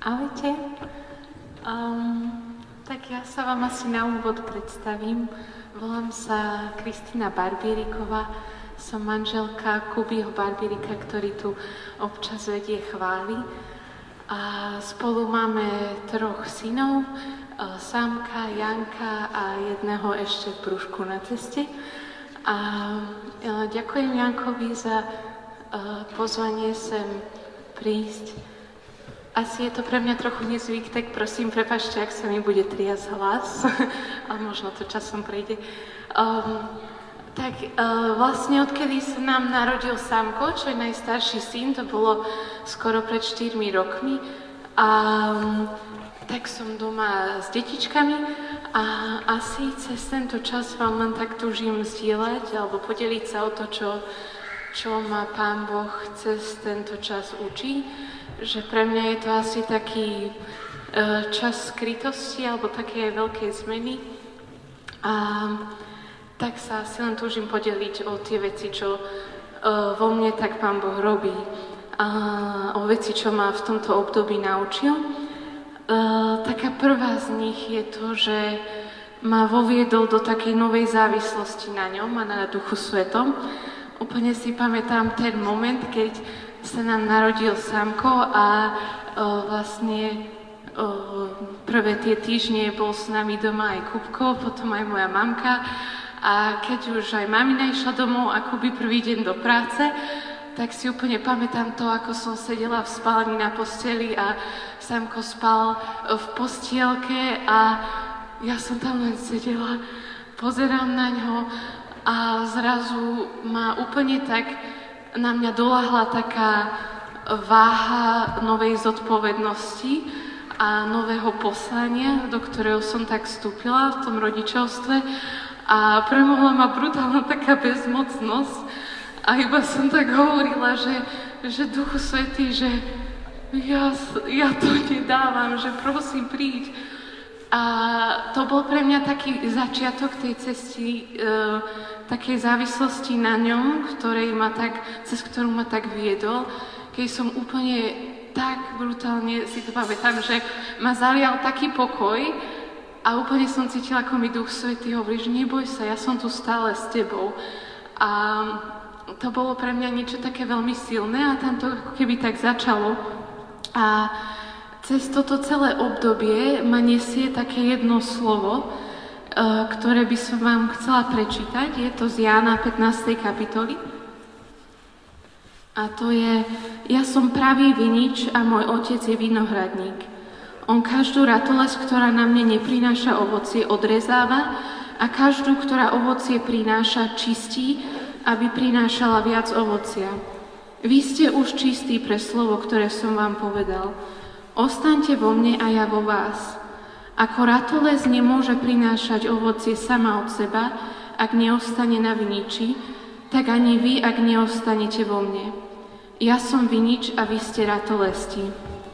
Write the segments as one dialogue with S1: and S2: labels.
S1: Ahojte. Tak ja sa vám asi na úvod predstavím. Volám sa Kristína Barbíriková. Som manželka Kubyho Barbírika, ktorý tu občas vedie chvály. A spolu máme 3 synov, Sámka, Janka a jedného ešte v brúšku na ceste. A ďakujem Jankovi za pozvanie sem prísť. Asi je to pre mňa trochu nezvyk, tak prosím, prepáčte, ak sa mi bude triasť hlas, ale možno to časom prejde. Vlastne odkedy sa nám narodil Sámko, čo je najstarší syn, to bolo skoro pred 4 rokmi, a tak som doma s detičkami a asi cez tento čas vám len tak túžim zdieľať alebo podeliť sa o to, čo ma Pán Boh cez tento čas učí. Že pre mňa je to asi taký čas skrytosti alebo také veľké zmeny. A tak sa asi len túžim podeliť o tie veci, čo vo mne tak Pán Boh robí. A o veci, čo ma v tomto období naučil. Taká prvá z nich je to, že ma voviedol do takej novej závislosti na ňom a na Duchu Svetom. Úplne si pamätám ten moment, keď sa nám narodil Sámko a vlastne prvé tie týždne bol s nami doma aj Kubko, potom aj moja mamka, a keď už aj mamina išla domov a Kuby prvý deň do práce, tak si úplne pamätám to, ako som sedela v spálni na posteli a Sámko spal v postielke a ja som tam len sedela, pozerám na ňo a zrazu ma úplne tak na mňa doľahla taká váha novej zodpovednosti a nového poslania, do ktorého som tak vstúpila v tom rodičovstve, a premohla ma brutálna taká bezmocnosť a iba som tak hovorila, že Duchu Svätý, že ja to nedávam, že prosím príď. A to bol pre mňa taký začiatok tej cesty, takej závislosti na ňom, cez ktorú ma tak viedol, keď som úplne tak brutálne, si to pamätám, že ma zalial taký pokoj a úplne som cítila, ako mi Duch Svätý hovorí, že neboj sa, ja som tu stále s tebou. A to bolo pre mňa niečo také veľmi silné a tam to ako keby tak začalo. A cez toto celé obdobie ma nesie také jedno slovo, ktoré by som vám chcela prečítať. Je to z Jána 15. kapitoly. A to je: Ja som pravý vinič a môj otec je vinohradník. On každú ratolesť, ktorá na mne neprináša ovocie, odrezáva a každú, ktorá ovocie prináša, čistí, aby prinášala viac ovocia. Vy ste už čistí pre slovo, ktoré som vám povedal. Ostaňte vo mne a ja vo vás. Ako ratolesť nemôže prinášať ovocie sama od seba, ak neostane na viniči, tak ani vy, ak neostanete vo mne. Ja som vinič a vy ste ratolesti.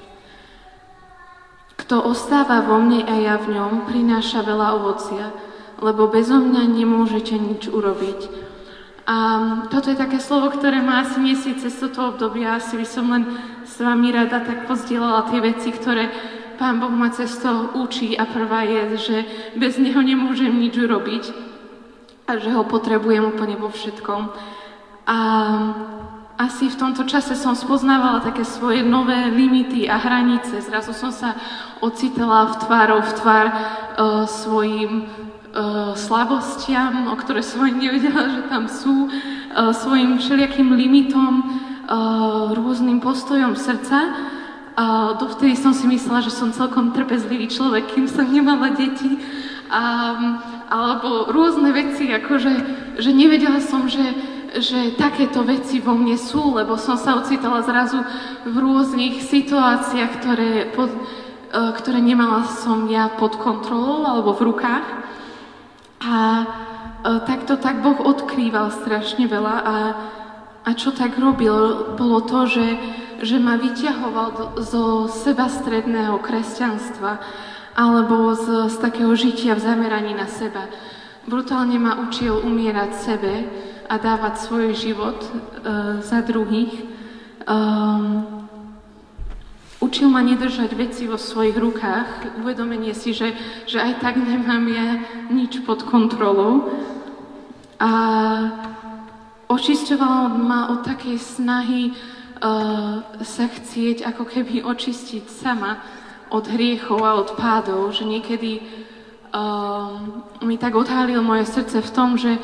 S1: Kto ostáva vo mne a ja v ňom, prináša veľa ovocia, lebo bezo mňa nemôžete nič urobiť. A toto je také slovo, ktoré ma asi nesie cez toto obdobie. Asi by som len s vami rada tak pozdieľala tie veci, ktoré Pán Boh ma cez to učí. A prvá je, že bez Neho nemôžem nič urobiť a že Ho potrebujem úplne vo všetkom. A asi v tomto čase som spoznávala také svoje nové limity a hranice. Zrazu som sa ocitala v tvár svojim slabostiam, o ktoré som ani nevedela, že tam sú, svojim všelijakým limitom, rôznym postojom srdca. Dovtedy som si myslela, že som celkom trpezlivý človek, kým som nemala deti, alebo rôzne veci, akože že nevedela som, že takéto veci vo mne sú, lebo som sa ocitala zrazu v rôznych situáciách, ktoré nemala som ja pod kontrolou alebo v rukách. A takto tak Boh odkrýval strašne veľa a čo tak robil, bolo to, že ma vyťahoval zo sebastredného kresťanstva alebo z takého žitia v zameraní na seba. Brutálne ma učil umierať sebe a dávať svoj život za druhých. Učil ma nedržať veci vo svojich rukách, uvedomenie si, že aj tak nemám ja nič pod kontrolou. A očisťoval ma od takej snahy sa chcieť ako keby očistiť sama od hriechov a od pádov, že niekedy mi tak odhalil moje srdce v tom, že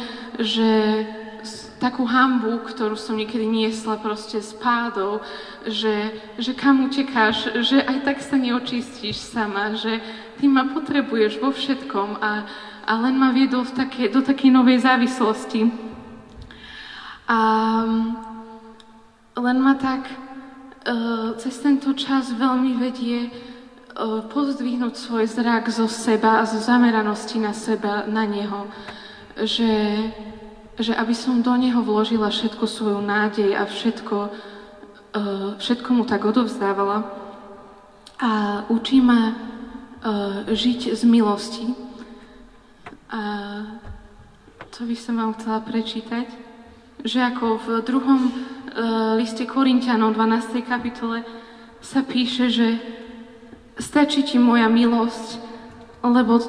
S1: takú hanbu, ktorú som niekedy niesla proste z pádov, že kam utekáš, že aj tak sa neočistíš sama, že ty ma potrebuješ vo všetkom a len ma viedol do takej novej závislosti. A len ma tak cez tento čas veľmi vedie pozdvihnúť svoj zrak zo seba a zo zameranosti na seba, na neho, že aby som do neho vložila všetku svoju nádej a všetko mu tak odovzdávala. A učí ma žiť z milosti. A to by som vám chcela prečítať, že ako v 2. liste Korinťanom 12. kapitole sa píše, že stačí ti moja milosť, lebo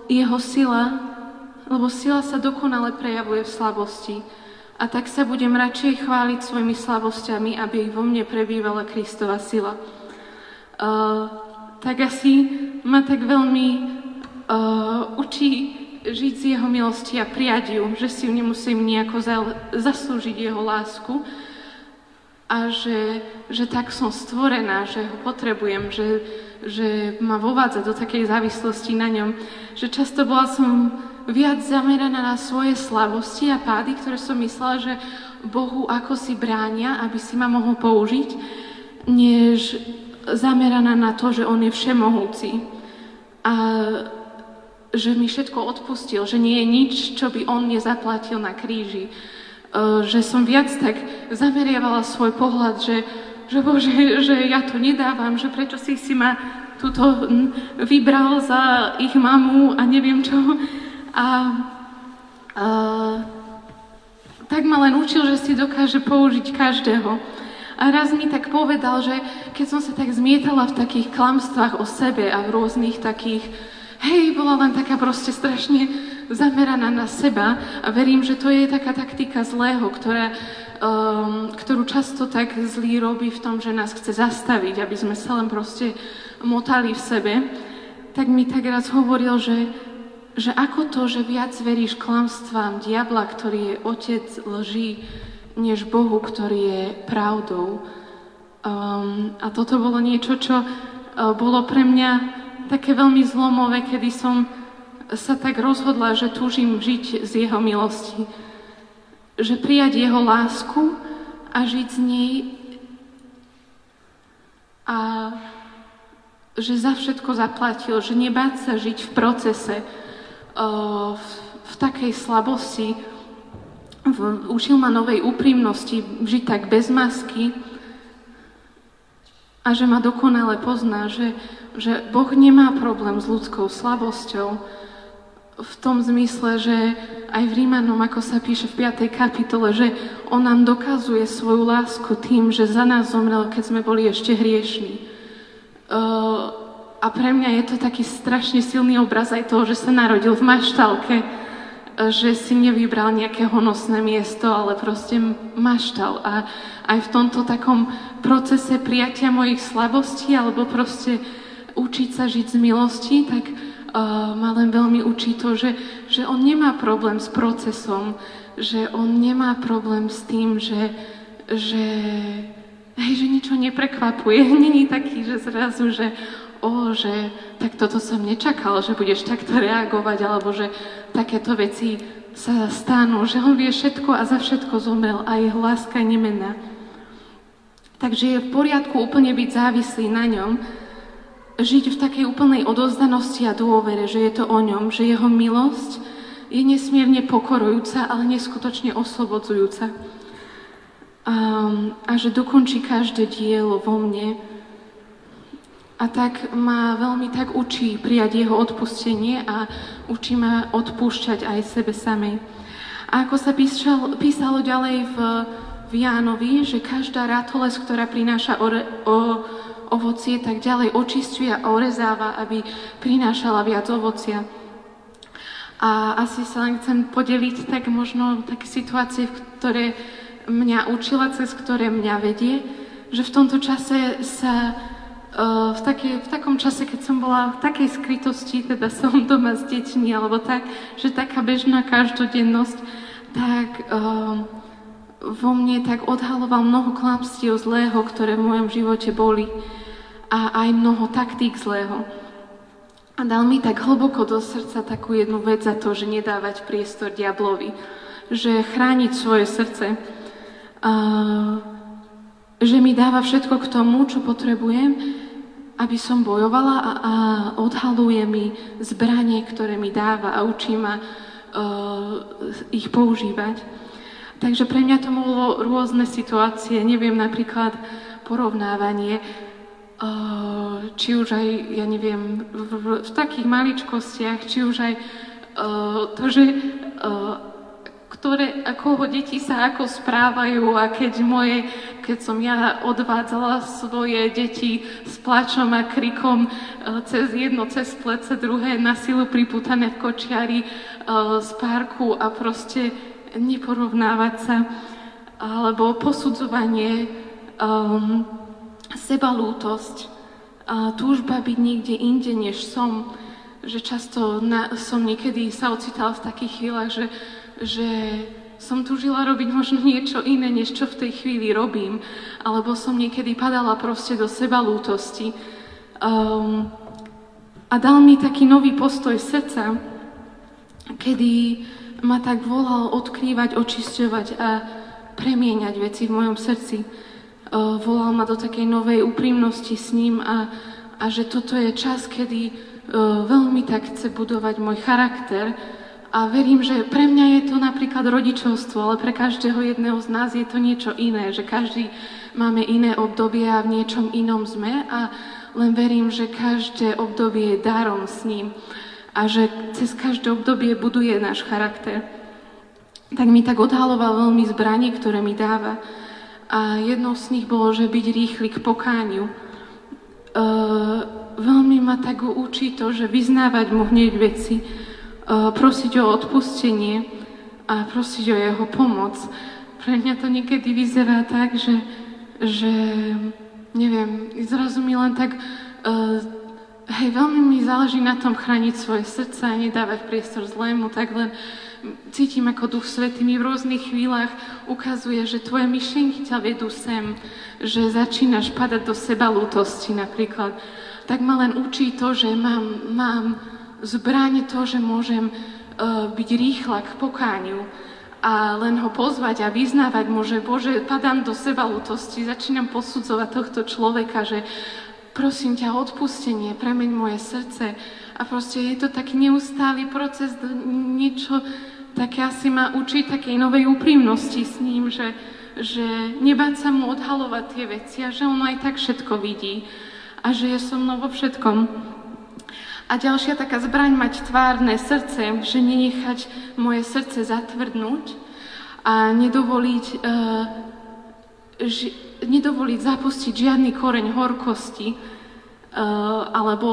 S1: sila sa dokonale prejavuje v slabosti. A tak sa budem radšej chváliť svojimi slabosťami, aby vo mne prebývala Kristova sila. Tak asi ma tak veľmi učí žiť z jeho milosti a prijať ju, že si ju nemusím nejako zaslúžiť jeho lásku a že tak som stvorená, že ho potrebujem, že ma vovádza do takej závislosti na ňom, že často bola som viac zameraná na svoje slabosti a pády, ktoré som myslela, že Bohu ako si bránia, aby si ma mohol použiť, než zameraná na to, že on je všemohúci a že mi všetko odpustil, že nie je nič, čo by on nezaplatil na kríži. Že som viac tak zameriavala svoj pohľad, že Bože, že ja to nedávam, že prečo si ma tuto vybral za ich mamu a neviem čo. Tak ma len učil, že si dokáže použiť každého. A raz mi tak povedal, že keď som sa tak zmietala v takých klamstvách o sebe a v rôznych takých, bola len taká proste strašne zameraná na seba a verím, že to je taká taktika zlého, ktorú často tak zlý robí v tom, že nás chce zastaviť, aby sme sa len proste motali v sebe, tak mi tak raz hovoril, že ako to, že viac veríš klamstvám diabla, ktorý je otec lží, než Bohu, ktorý je pravdou. A toto bolo niečo, čo bolo pre mňa také veľmi zlomové, kedy som sa tak rozhodla, že túžim žiť z jeho milosti. Že prijať jeho lásku a žiť z nej a že za všetko zaplatil, že nebáť sa žiť v procese, v takej slabosti, učil ma novej úprimnosti, žiť tak bez masky a že ma dokonale pozná, že Boh nemá problém s ľudskou slabosťou v tom zmysle, že aj v Rímanom, ako sa píše v 5. kapitole, že on nám dokazuje svoju lásku tým, že za nás zomrel, keď sme boli ešte hriešní. A pre mňa je to taký strašne silný obraz aj toho, že sa narodil v maštálke, že si nevybral nejaké honosné miesto, ale proste maštal. A aj v tomto takom procese prijatia mojich slabostí alebo proste učiť sa žiť z milosti, tak ma len veľmi učí to, že on nemá problém s procesom, že on nemá problém s tým, že ničo neprekvapuje. Není taký, že zrazu, že tak toto som nečakal, že budeš takto reagovať, alebo že takéto veci sa stanú, že on vie všetko a za všetko zomrel a jeho láska je nemenná. Takže je v poriadku úplne byť závislý na ňom, žiť v takej úplnej odovzdanosti a dôvere, že je to o ňom, že jeho milosť je nesmierne pokorujúca, ale neskutočne oslobodzujúca. A že dokončí každé dielo vo mne. A tak ma veľmi tak učí prijať jeho odpustenie a učí ma odpúšťať aj sebe samej. A ako sa písalo ďalej v Jánovi, že každá ratolesť, ktorá prináša ovocie, tak ďalej očisťuje a orezáva, aby prinášala viac ovocia. A asi sa len chcem podeliť tak možno také situácie, ktoré mňa učila, cez ktoré mňa vedie, že v tomto čase sa, v takom čase, keď som bola v takej skrytosti, teda som doma s deťmi, alebo tak, že taká bežná každodennosť, tak vo mne tak odhaloval mnoho klamstiev zlého, ktoré v mojom živote boli a aj mnoho taktík zlého. A dal mi tak hlboko do srdca takú jednu vec za to, že nedávať priestor diablovi, že chrániť svoje srdce, že mi dáva všetko k tomu, čo potrebujem, aby som bojovala a odhaluje mi zbranie, ktoré mi dáva a učí ma ich používať. Takže pre mňa to bolo rôzne situácie, neviem, napríklad porovnávanie, či už aj, ja neviem, v takých maličkostiach, či už aj to, že ako deti sa ako správajú a keď som ja odvádzala svoje deti s plačom a krikom cez jedno, cez plece, druhé na silu pripútané v kočiari z parku a proste neporovnávať sa, alebo posudzovanie, sebalútosť, túžba byť niekde inde, než som, že často som niekedy sa ocitala v takých chvíľach, že som túžila robiť možno niečo iné, než čo v tej chvíli robím, alebo som niekedy padala proste do sebalútosti. A dal mi taký nový postoj srdca, kedy ma tak volal odkrývať, očisťovať a premieňať veci v mojom srdci. Volal ma do takej novej úprimnosti s ním a že toto je čas, kedy veľmi tak chce budovať môj charakter a verím, že pre mňa je to napríklad rodičovstvo, ale pre každého jedného z nás je to niečo iné, že každý máme iné obdobie a v niečom inom sme a len verím, že každé obdobie je darom s ním a že cez každé obdobie buduje náš charakter. Tak mi tak odhaloval veľmi zbranie, ktoré mi dáva. A jednou z nich bolo, že byť rýchly k pokániu. Veľmi ma tak učí to, že vyznávať mu hneď veci, prosiť o odpustenie a prosiť o jeho pomoc. Pre mňa to niekedy vyzerá tak, že neviem, zrazu mi len tak, veľmi mi záleží na tom chrániť svoje srdce a nedávať priestor zlému, tak len cítim, ako Duch Svätý mi v rôznych chvíľach ukazuje, že tvoje myšlienky ťa vedú sem, že začínaš padať do sebalútosti napríklad. Tak ma len učí to, že mám zbraň to, že môžem byť rýchla k pokániu a len ho pozvať a vyznávať mu, že Bože, padám do sebalútosti, začínam posudzovať tohto človeka, že prosím ťa o odpustenie, premeň moje srdce. A proste je to taký neustály proces, niečo také asi ma učí takej novej úprimnosti s ním, že nebáť sa mu odhalovať tie veci a že on aj tak všetko vidí a že je so mnou vo všetkom. A ďalšia taká zbraň mať tvárne srdce, že nenechať moje srdce zatvrdnúť a nedovoliť zapustiť žiadny koreň horkosti alebo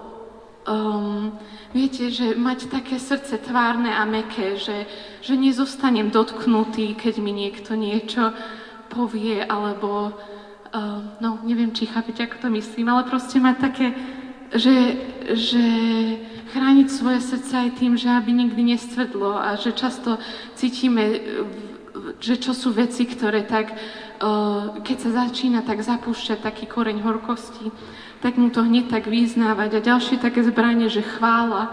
S1: viete, že mať také srdce tvárne a mäkké, že nezostanem dotknutý, keď mi niekto niečo povie, alebo neviem, či chápete, ako to myslím, ale proste mať také, že chrániť svoje srdce aj tým, že aby nikdy nestvrdlo a že často cítime, že čo sú veci, ktoré tak, keď sa začína tak zapúšťať taký koreň horkosti, tak mu to hneď tak vyznávať. A ďalšie také zbranie, že chvála.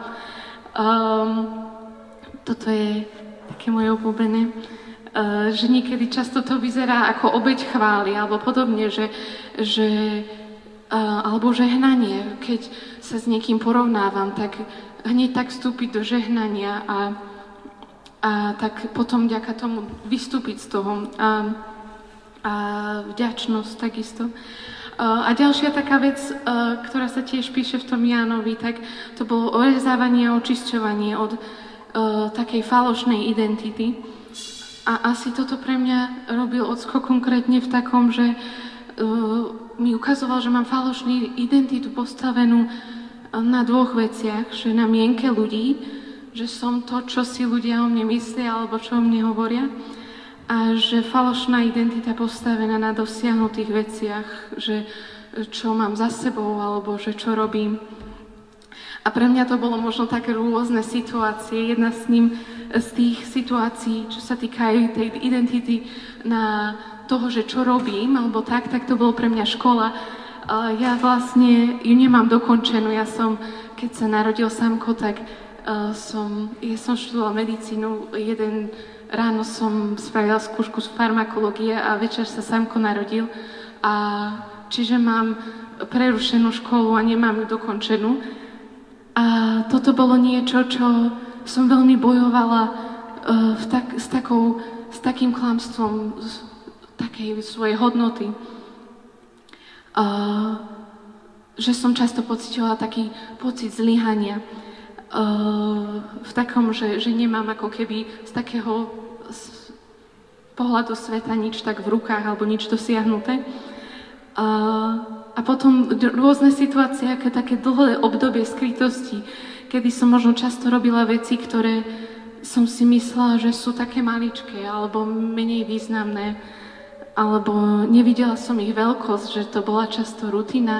S1: Toto je také moje obľúbené. Že niekedy často to vyzerá ako obeť chvály, alebo podobne, alebo žehnanie. Keď sa s niekým porovnávam, tak hneď tak vstúpiť do žehnania a tak potom vďaka tomu vystúpiť z toho. A vďačnosť takisto. A ďalšia taká vec, ktorá sa tiež píše v tom Jánovi, tak to bolo orezávanie a očisťovanie od takej falošnej identity. A asi toto pre mňa robil Ocko konkrétne v takom, že mi ukazoval, že mám falošnú identitu postavenú na dvoch veciach, že na mienke ľudí, že som to, čo si ľudia o mne myslia alebo čo o mne hovoria, a že falošná identita postavená na dosiahnutých veciach, že čo mám za sebou alebo že čo robím. A pre mňa to bolo možno také rôzne situácie. Jedna z tých situácií, čo sa týka aj tej identity na toho, že čo robím, alebo tak to bolo pre mňa škola. Ja vlastne ju nemám dokončenú. Keď sa narodil Samko, tak som študovala medicínu. Jeden ráno som spravila skúšku z farmakológie a večer sa Samko narodil. A čiže mám prerušenú školu a nemám ju dokončenú. A toto bolo niečo, čo som veľmi bojovala s takým klamstvom takej svojej hodnoty. Že som často pociťovala taký pocit zlyhania. V takom, že nemám ako keby z takého pohľadu sveta nič tak v rukách alebo nič dosiahnuté. A potom rôzne situácie, aké také dlhé obdobie skrytosti, kedy som možno často robila veci, ktoré som si myslela, že sú také maličké alebo menej významné, alebo nevidela som ich veľkosť, že to bola často rutina,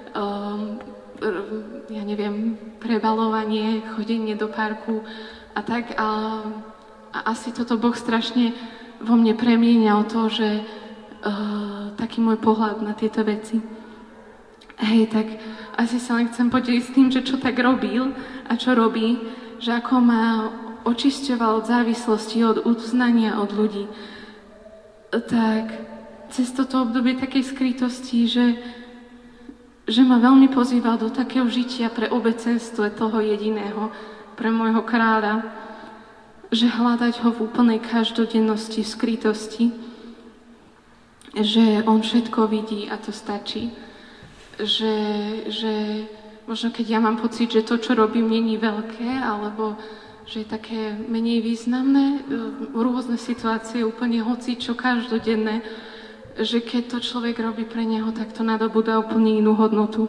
S1: ja neviem, prebalovanie, chodenie do parku a tak. A asi toto Boh strašne vo mne premienial to, že taký môj pohľad na tieto veci. Hej, tak asi sa len chcem podeliť s tým, že čo tak robil a čo robí, že ako ma očisťoval od závislosti, od uznania od ľudí. Tak cez toto obdobie takej skrytosti, že ma veľmi pozýval do takého žitia pre obecenstvo toho jediného, pre môjho kráľa, že hľadať ho v úplnej každodennosti, v skrytosti, že on všetko vidí a to stačí. Že možno keď ja mám pocit, že to, čo robím, není veľké, alebo že je také menej významné, rôzne situácie, úplne hocičo, každodenné, že keď to človek robí pre neho, tak to nadobúda úplne inú hodnotu.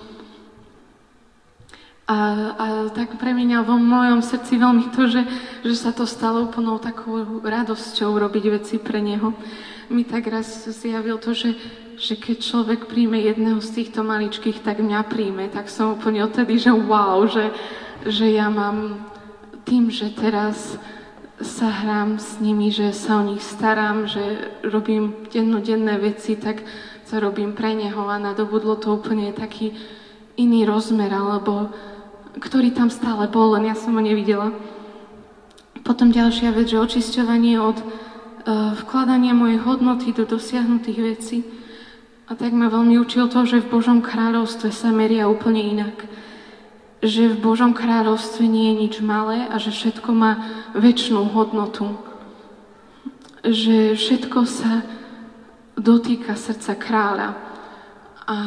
S1: A tak premieňal vo mojom srdci veľmi to, že sa to stalo úplnou takou radosťou robiť veci pre neho. Mi tak raz zjavil to, že keď človek príjme jedného z týchto maličkých, tak mňa príjme. Tak som úplne odtedy, že wow, že ja mám tým, že teraz sa hrám s nimi, že sa o nich starám, že robím dennodenné veci, tak to robím pre neho a nadobudlo to úplne taký iný rozmer, alebo ktorý tam stále bol, len ja som ho nevidela. Potom ďalšia vec, že očisťovanie od vkladania mojej hodnoty do dosiahnutých vecí. A tak ma veľmi učil to, že v Božom kráľovstve sa meria úplne inak. Že v Božom kráľovstve nie je nič malé a že všetko má večnú hodnotu. Že všetko sa dotýka srdca kráľa. A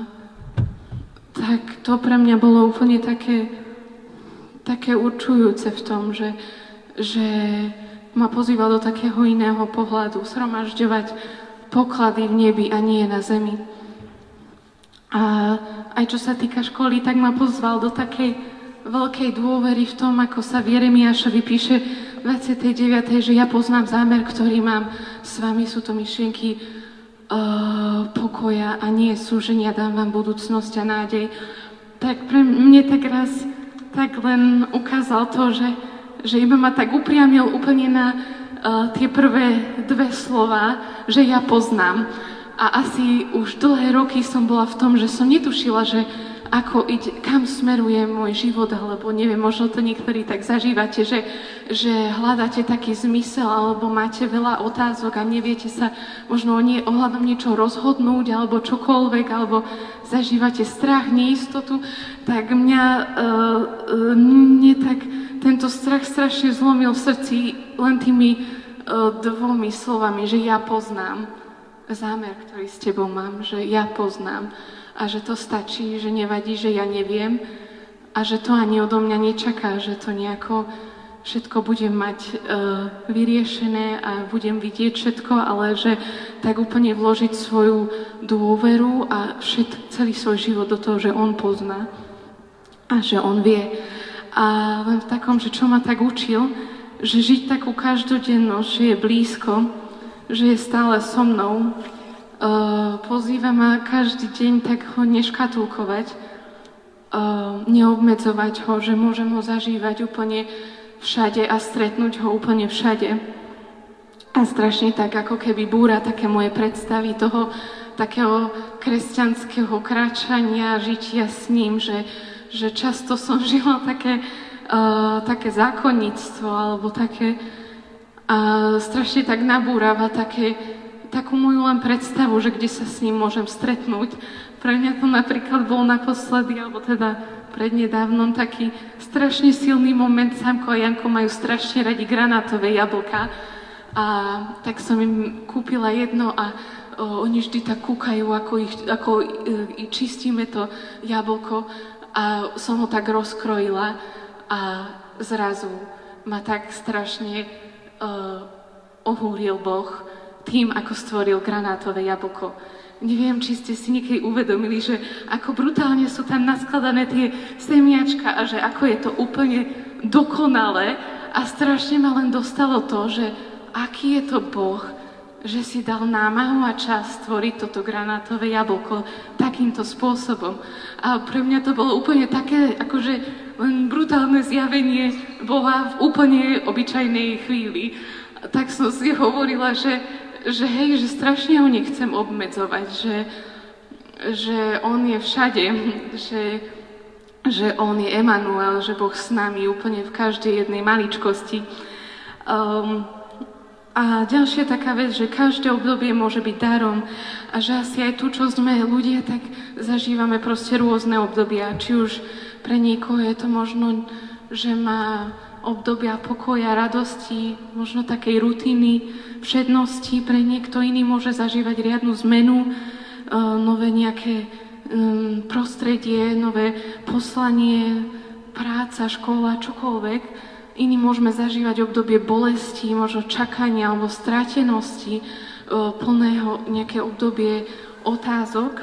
S1: tak to pre mňa bolo úplne také určujúce v tom, že ma pozýval do takého iného pohľadu, zhromažďovať poklady v nebi a nie na zemi. A aj čo sa týka školy, tak ma pozval do takej veľkej dôvery v tom, ako sa v Jeremiášovi píše v 29., že ja poznám zámer, ktorý mám s vami, sú to myšlienky pokoja a nie súženia, dám vám budúcnosť a nádej. Tak pre mne tak raz tak len ukázal to, že iba ma tak upriamil úplne na tie prvé dve slova, že ja poznám. A asi už dlhé roky som bola v tom, že som netušila, že kam smeruje môj život, alebo neviem, možno to niektorí tak zažívate, že hľadáte taký zmysel, alebo máte veľa otázok a neviete sa možno ohľadom niečo rozhodnúť, alebo čokoľvek, alebo zažívate strach, neistotu, tak mne tak tento strach strašne zlomil v srdci len tými dvomi slovami, že ja poznám zámer, ktorý s tebou mám, že ja poznám a že to stačí, že nevadí, že ja neviem a že to ani odo mňa nečaká, že to nejako všetko budem mať vyriešené a budem vidieť všetko, ale že tak úplne vložiť svoju dôveru a celý svoj život do toho, že on pozná a že on vie. A len v takom, že čo ma tak učil, že žiť takú každodennosť, že je blízko, že je stále so mnou, pozýva ma každý deň tak ho neškatulkovať, neobmedzovať ho, že môžem ho zažívať úplne všade a stretnúť ho úplne všade. A strašne tak, ako keby búra také moje predstavy toho takého kresťanského kráčania, žitia s ním, že často som žila také zákonníctvo, alebo také strašne tak nabúrava takú moju len predstavu, že kde sa s ním môžem stretnúť. Pre mňa to napríklad bol naposledy, alebo teda prednedávnom taký strašne silný moment. Sámko a Janko majú strašne radi granátové jablka a tak som im kúpila jedno a oni vždy tak kúkajú, ako čistíme to jablko a som ho tak rozkrojila a zrazu ma tak strašne ohúril Boh tým, ako stvoril granátové jablko. Neviem, či ste si niekedy uvedomili, že ako brutálne sú tam naskladané tie semiačka a že ako je to úplne dokonalé a strašne ma len dostalo to, že aký je to Boh, že si dal námahu a čas stvoriť toto granátové jablko takýmto spôsobom. A pre mňa to bolo úplne také, akože len brutálne zjavenie Boha v úplne obyčajnej chvíli. Tak som si hovorila, že hej, že strašne ho nechcem obmedzovať, že on je všade, že on je Emanuel, že Boh s nami úplne v každej jednej maličkosti. A ďalšia taká vec, že každé obdobie môže byť darom a že asi aj tu, čo sme ľudia, tak zažívame proste rôzne obdobia. Či už pre niekoho je to možno, že má obdobia pokoja, radosti, možno takej rutiny, všednosti. Pre niekto iný môže zažívať riadnu zmenu, nové nejaké prostredie, nové poslanie, práca, škola, čokoľvek. Iní môžeme zažívať obdobie bolesti, možno čakania alebo strátenosti, plného nejaké obdobie otázok.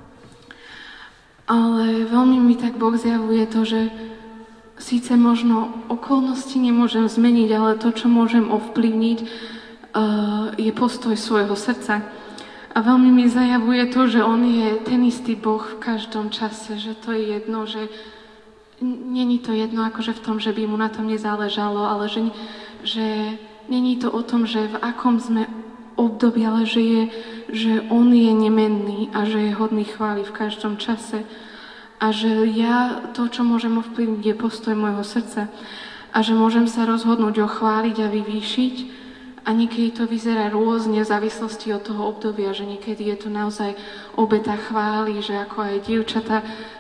S1: Ale veľmi mi tak Boh zjavuje to, že síce možno okolnosti nemôžem zmeniť, ale to, čo môžem ovplyvniť, je postoj svojho srdca. A veľmi mi zajavuje to, že on je ten istý Boh v každom čase, že to je jedno, že není to jedno akože v tom, že by mu na tom nezáležalo, ale že není to o tom, že v akom sme období, ale že on je nemenný a že je hodný chvály v každom čase. A že ja to, čo môžem ovplyvniť, je postoj môjho srdca. A že môžem sa rozhodnúť ho chváliť a vyvýšiť. A niekedy to vyzerá rôzne v závislosti od toho obdobia, že niekedy je to naozaj obeta chvály, že ako aj dievčatá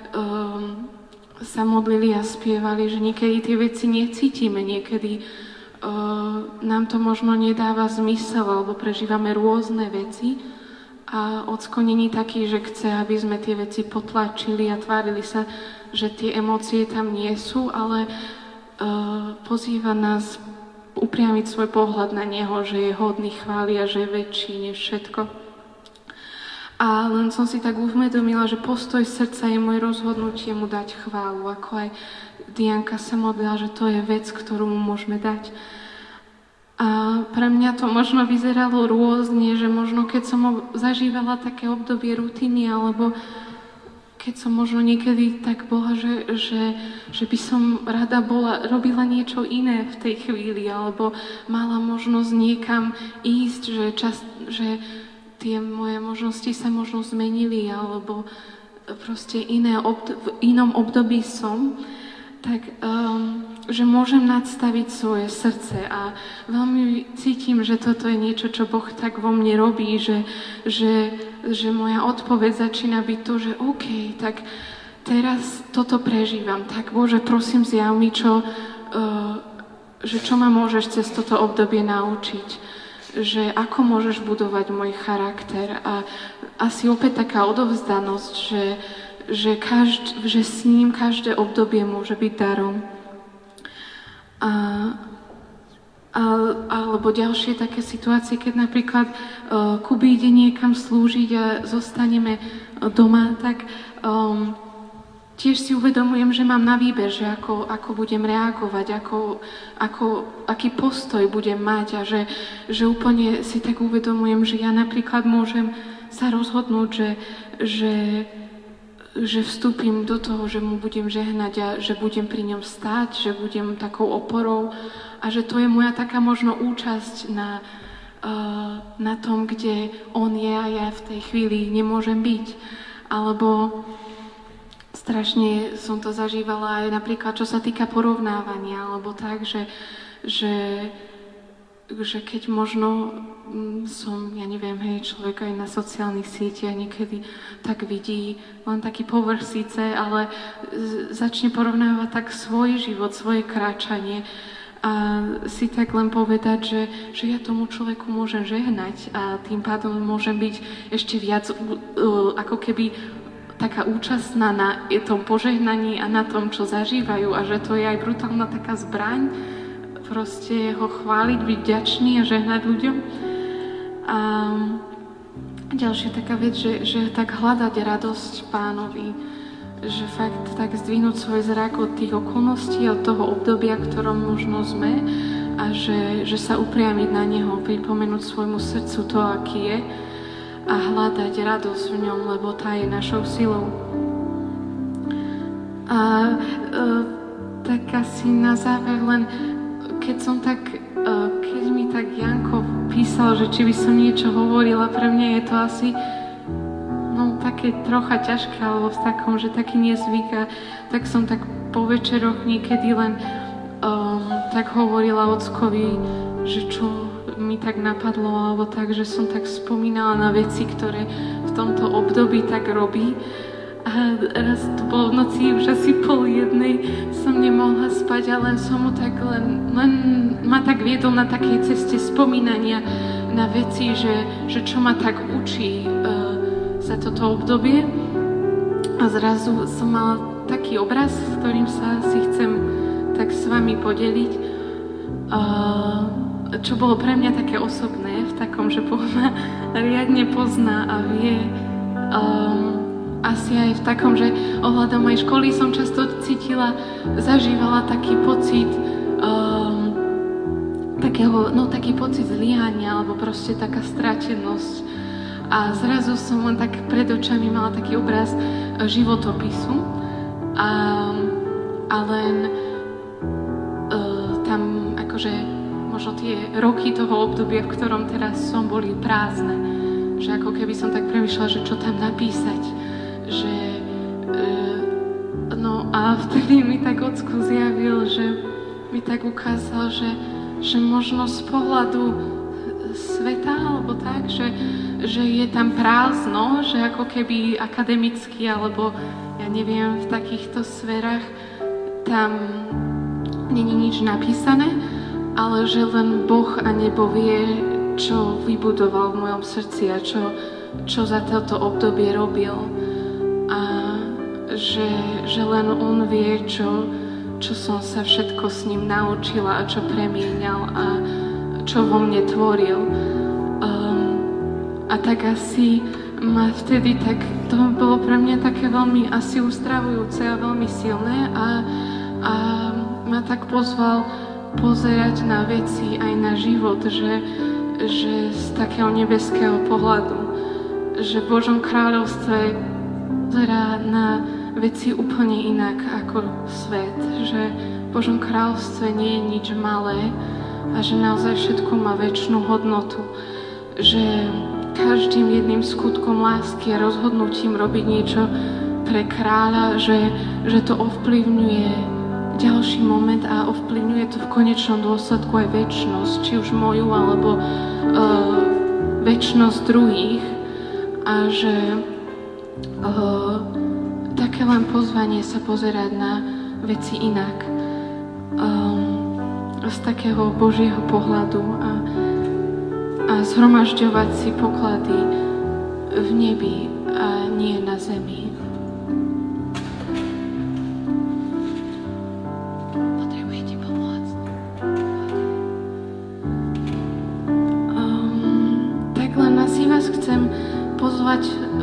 S1: sa modlili a spievali, že niekedy tie veci necítime, niekedy nám to možno nedáva zmysel, alebo prežívame rôzne veci. A Ocko není taký, že chce, aby sme tie veci potlačili a tvárili sa, že tie emócie tam nie sú, ale pozýva nás upriamiť svoj pohľad na Neho, že je hodný chvály a že je väčší než všetko. A len som si tak uvedomila, že postoj srdca je moje rozhodnutie mu dať chválu, ako aj Dianka sa modlila, že to je vec, ktorú mu môžeme dať. A pre mňa to možno vyzeralo rôzne, že možno keď som zažívala také obdobie rutiny, alebo keď som možno niekedy tak bola, že by som rada robila niečo iné v tej chvíli, alebo mala možnosť niekam ísť, že tie moje možnosti sa možno zmenili, alebo proste v inom období som, tak že môžem nadstaviť svoje srdce a veľmi cítim, že toto je niečo, čo Boh tak vo mne robí, že moja odpoveď začína byť to, že OK, tak teraz toto prežívam, tak Bože, prosím, zjav mi, čo ma môžeš cez toto obdobie naučiť, že ako môžeš budovať môj charakter a asi opäť taká odovzdanosť, že s ním každé obdobie môže byť darom. Alebo ďalšie také situácie, keď napríklad Kuby ide niekam slúžiť a zostaneme doma, tak tiež si uvedomujem, že mám na výber, že ako budem reagovať, aký postoj budem mať a že úplne si tak uvedomujem, že ja napríklad môžem sa rozhodnúť, že vstúpim do toho, že mu budem žehnať a že budem pri ňom stáť, že budem takou oporou a že to je moja taká možno účasť na tom, kde on je a ja v tej chvíli nemôžem byť. Alebo strašne som to zažívala aj napríklad, čo sa týka porovnávania, alebo tak, že keď možno som, ja neviem, človek aj na sociálnych sieťach niekedy tak vidí len taký povrch síce, ale začne porovnávať tak svoj život, svoje kráčanie a si tak len povedať, že ja tomu človeku môžem žehnať a tým pádom môžem byť ešte viac ako keby taká účastná na tom požehnaní a na tom, čo zažívajú a že to je aj brutálna taká zbraň, proste ho chváliť, byť vďačný a žehnať ľuďom. A ďalšia taká vec, že tak hľadať radosť Pánovi, že fakt tak zdvihnúť svoj zrak od tých okolností, od toho obdobia, v ktorom možno sme a že sa upriamiť na Neho, pripomenúť svojmu srdcu to, aký je a hľadať radosť v ňom, lebo tá je našou silou. A tak asi na záver len, keď mi tak Janko písal, že či by som niečo hovorila, pre mňa je to asi také trocha ťažké, alebo v takom, že taký nezvyk a tak som tak po večeroch niekedy len tak hovorila ockovi, že čo mi tak napadlo, alebo tak, že som tak spomínala na veci, ktoré v tomto období tak robí. A raz to bolo v noci, už asi 12:30 som nemohla spať, ale som mu tak len ma tak viedol na takej ceste spomínania na veci, že čo ma tak učí za toto obdobie. A zrazu som mala taký obraz, s ktorým sa si chcem tak s vami podeliť, čo bolo pre mňa také osobné, v takom, že Boh ma riadne pozná a vie. Asi aj v takom, že ohľadom aj školy som často zažívala taký pocit taký pocit zlyhania alebo proste taká stratenosť. A zrazu som len tak pred očami mala taký obraz životopisu a len tam akože možno tie roky toho obdobia, v ktorom teraz som, boli prázdne. Že ako keby som tak premýšľala, že čo tam napísať. A vtedy mi tak Ocko zjavil, že mi tak ukázal, že možno z pohľadu sveta, alebo tak, že je tam prázdno, že ako keby akademicky, alebo ja neviem, v takýchto sférach tam není nič napísané, ale že len Boh a nebo vie, čo vybudoval v mojom srdci a čo za toto obdobie robil. A že len on vie, čo som sa všetko s ním naučila a čo premieňal a čo vo mne tvoril. A tak asi ma vtedy to bolo pre mňa také veľmi asi uzdravujúce a veľmi silné a ma tak pozval pozerať na veci aj na život, že z takého nebeského pohľadu, že v Božom kráľovstve pozerá na veci úplne inak ako svet, že v Božom kráľovstve nie je nič malé a že naozaj všetko má večnú hodnotu, že každým jedným skutkom lásky a rozhodnutím robiť niečo pre kráľa, že to ovplyvňuje ďalší moment a ovplyvňuje to v konečnom dôsledku aj večnosť, či už moju, alebo večnosť druhých a že také len pozvanie sa pozerať na veci inak z takého Božieho pohľadu a zhromažďovať si poklady v nebi a nie na zemi. Potrebujete pomôcť? pozvať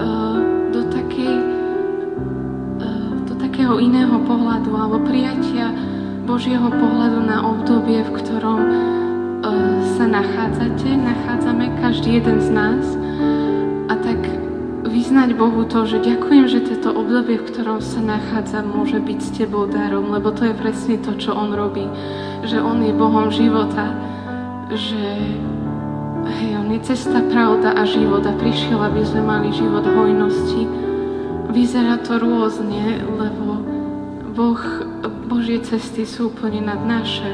S1: do takého iného pohľadu alebo prijatia Božieho pohľadu na obdobie, v ktorom sa nachádzame každý jeden z nás, a tak vyznať Bohu to, že ďakujem, že toto obdobie, v ktorom sa nachádzam, môže byť s Tebou darom, lebo to je presne to, čo On robí. Že On je Bohom života, že On je cesta, pravda a život a prišiel, aby sme mali život hojnosti. Vyzerá to rôzne, lebo Božie cesty sú úplne nad naše.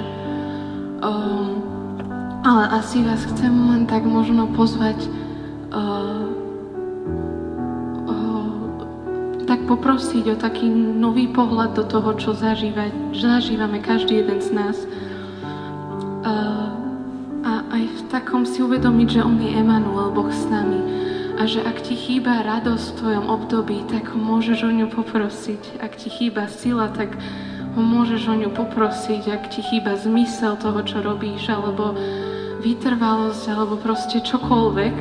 S1: Ale asi vás chcem len tak možno pozvať, tak poprosiť o taký nový pohľad do toho, čo zažívame každý jeden z nás. A aj v takom si uvedomiť, že On je Emanuel, Boh s nami. A že ak ti chýba radosť v tvojom období, tak ho môžeš o ňu poprosiť. Ak ti chýba sila, tak ho môžeš o ňu poprosiť. Ak ti chýba zmysel toho, čo robíš, alebo vytrvalosť, alebo proste čokoľvek.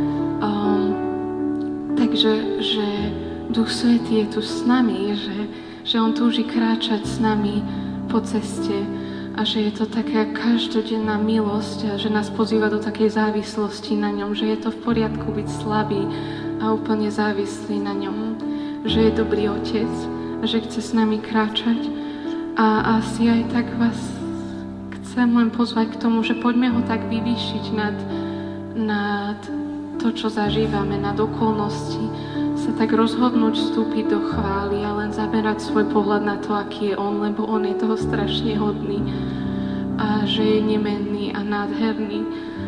S1: Takže že Duch Svätý je tu s nami, že On túži kráčať s nami po ceste a že je to taká každodenná milosť a že nás pozýva do takej závislosti na ňom, že je to v poriadku byť slabý a úplne závislý na ňom, že je dobrý Otec a že chce s nami kráčať. A asi aj tak vás chcem len pozvať k tomu, že poďme ho tak vyvýšiť nad to, čo zažívame, nad okolnosti, sa tak rozhodnúť vstúpiť do chvály a len zaberať svoj pohľad na to, aký je On, lebo On je toho strašne hodný a že je nemenný a nádherný.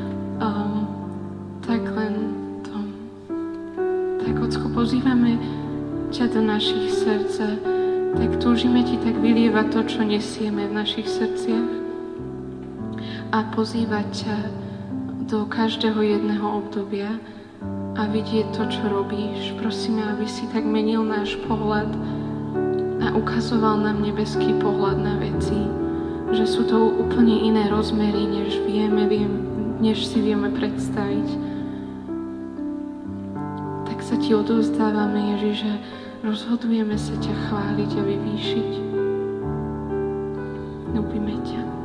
S1: Tak len to. Tak, Ocko, pozývame ťa do našich srdc, tak túžime Ti tak vylievať to, čo nesieme v našich srdciach a pozývať ťa do každého jedného obdobia a vidieť to, čo robíš. Prosíme, aby si tak menil náš pohľad a ukazoval nám nebeský pohľad na veci. Že sú to úplne iné rozmery, než si vieme predstaviť. Tak sa Ti odovzdávame, Ježiš, že rozhodujeme sa ťa chváliť a vyvýšiť. Ľúbime ťa.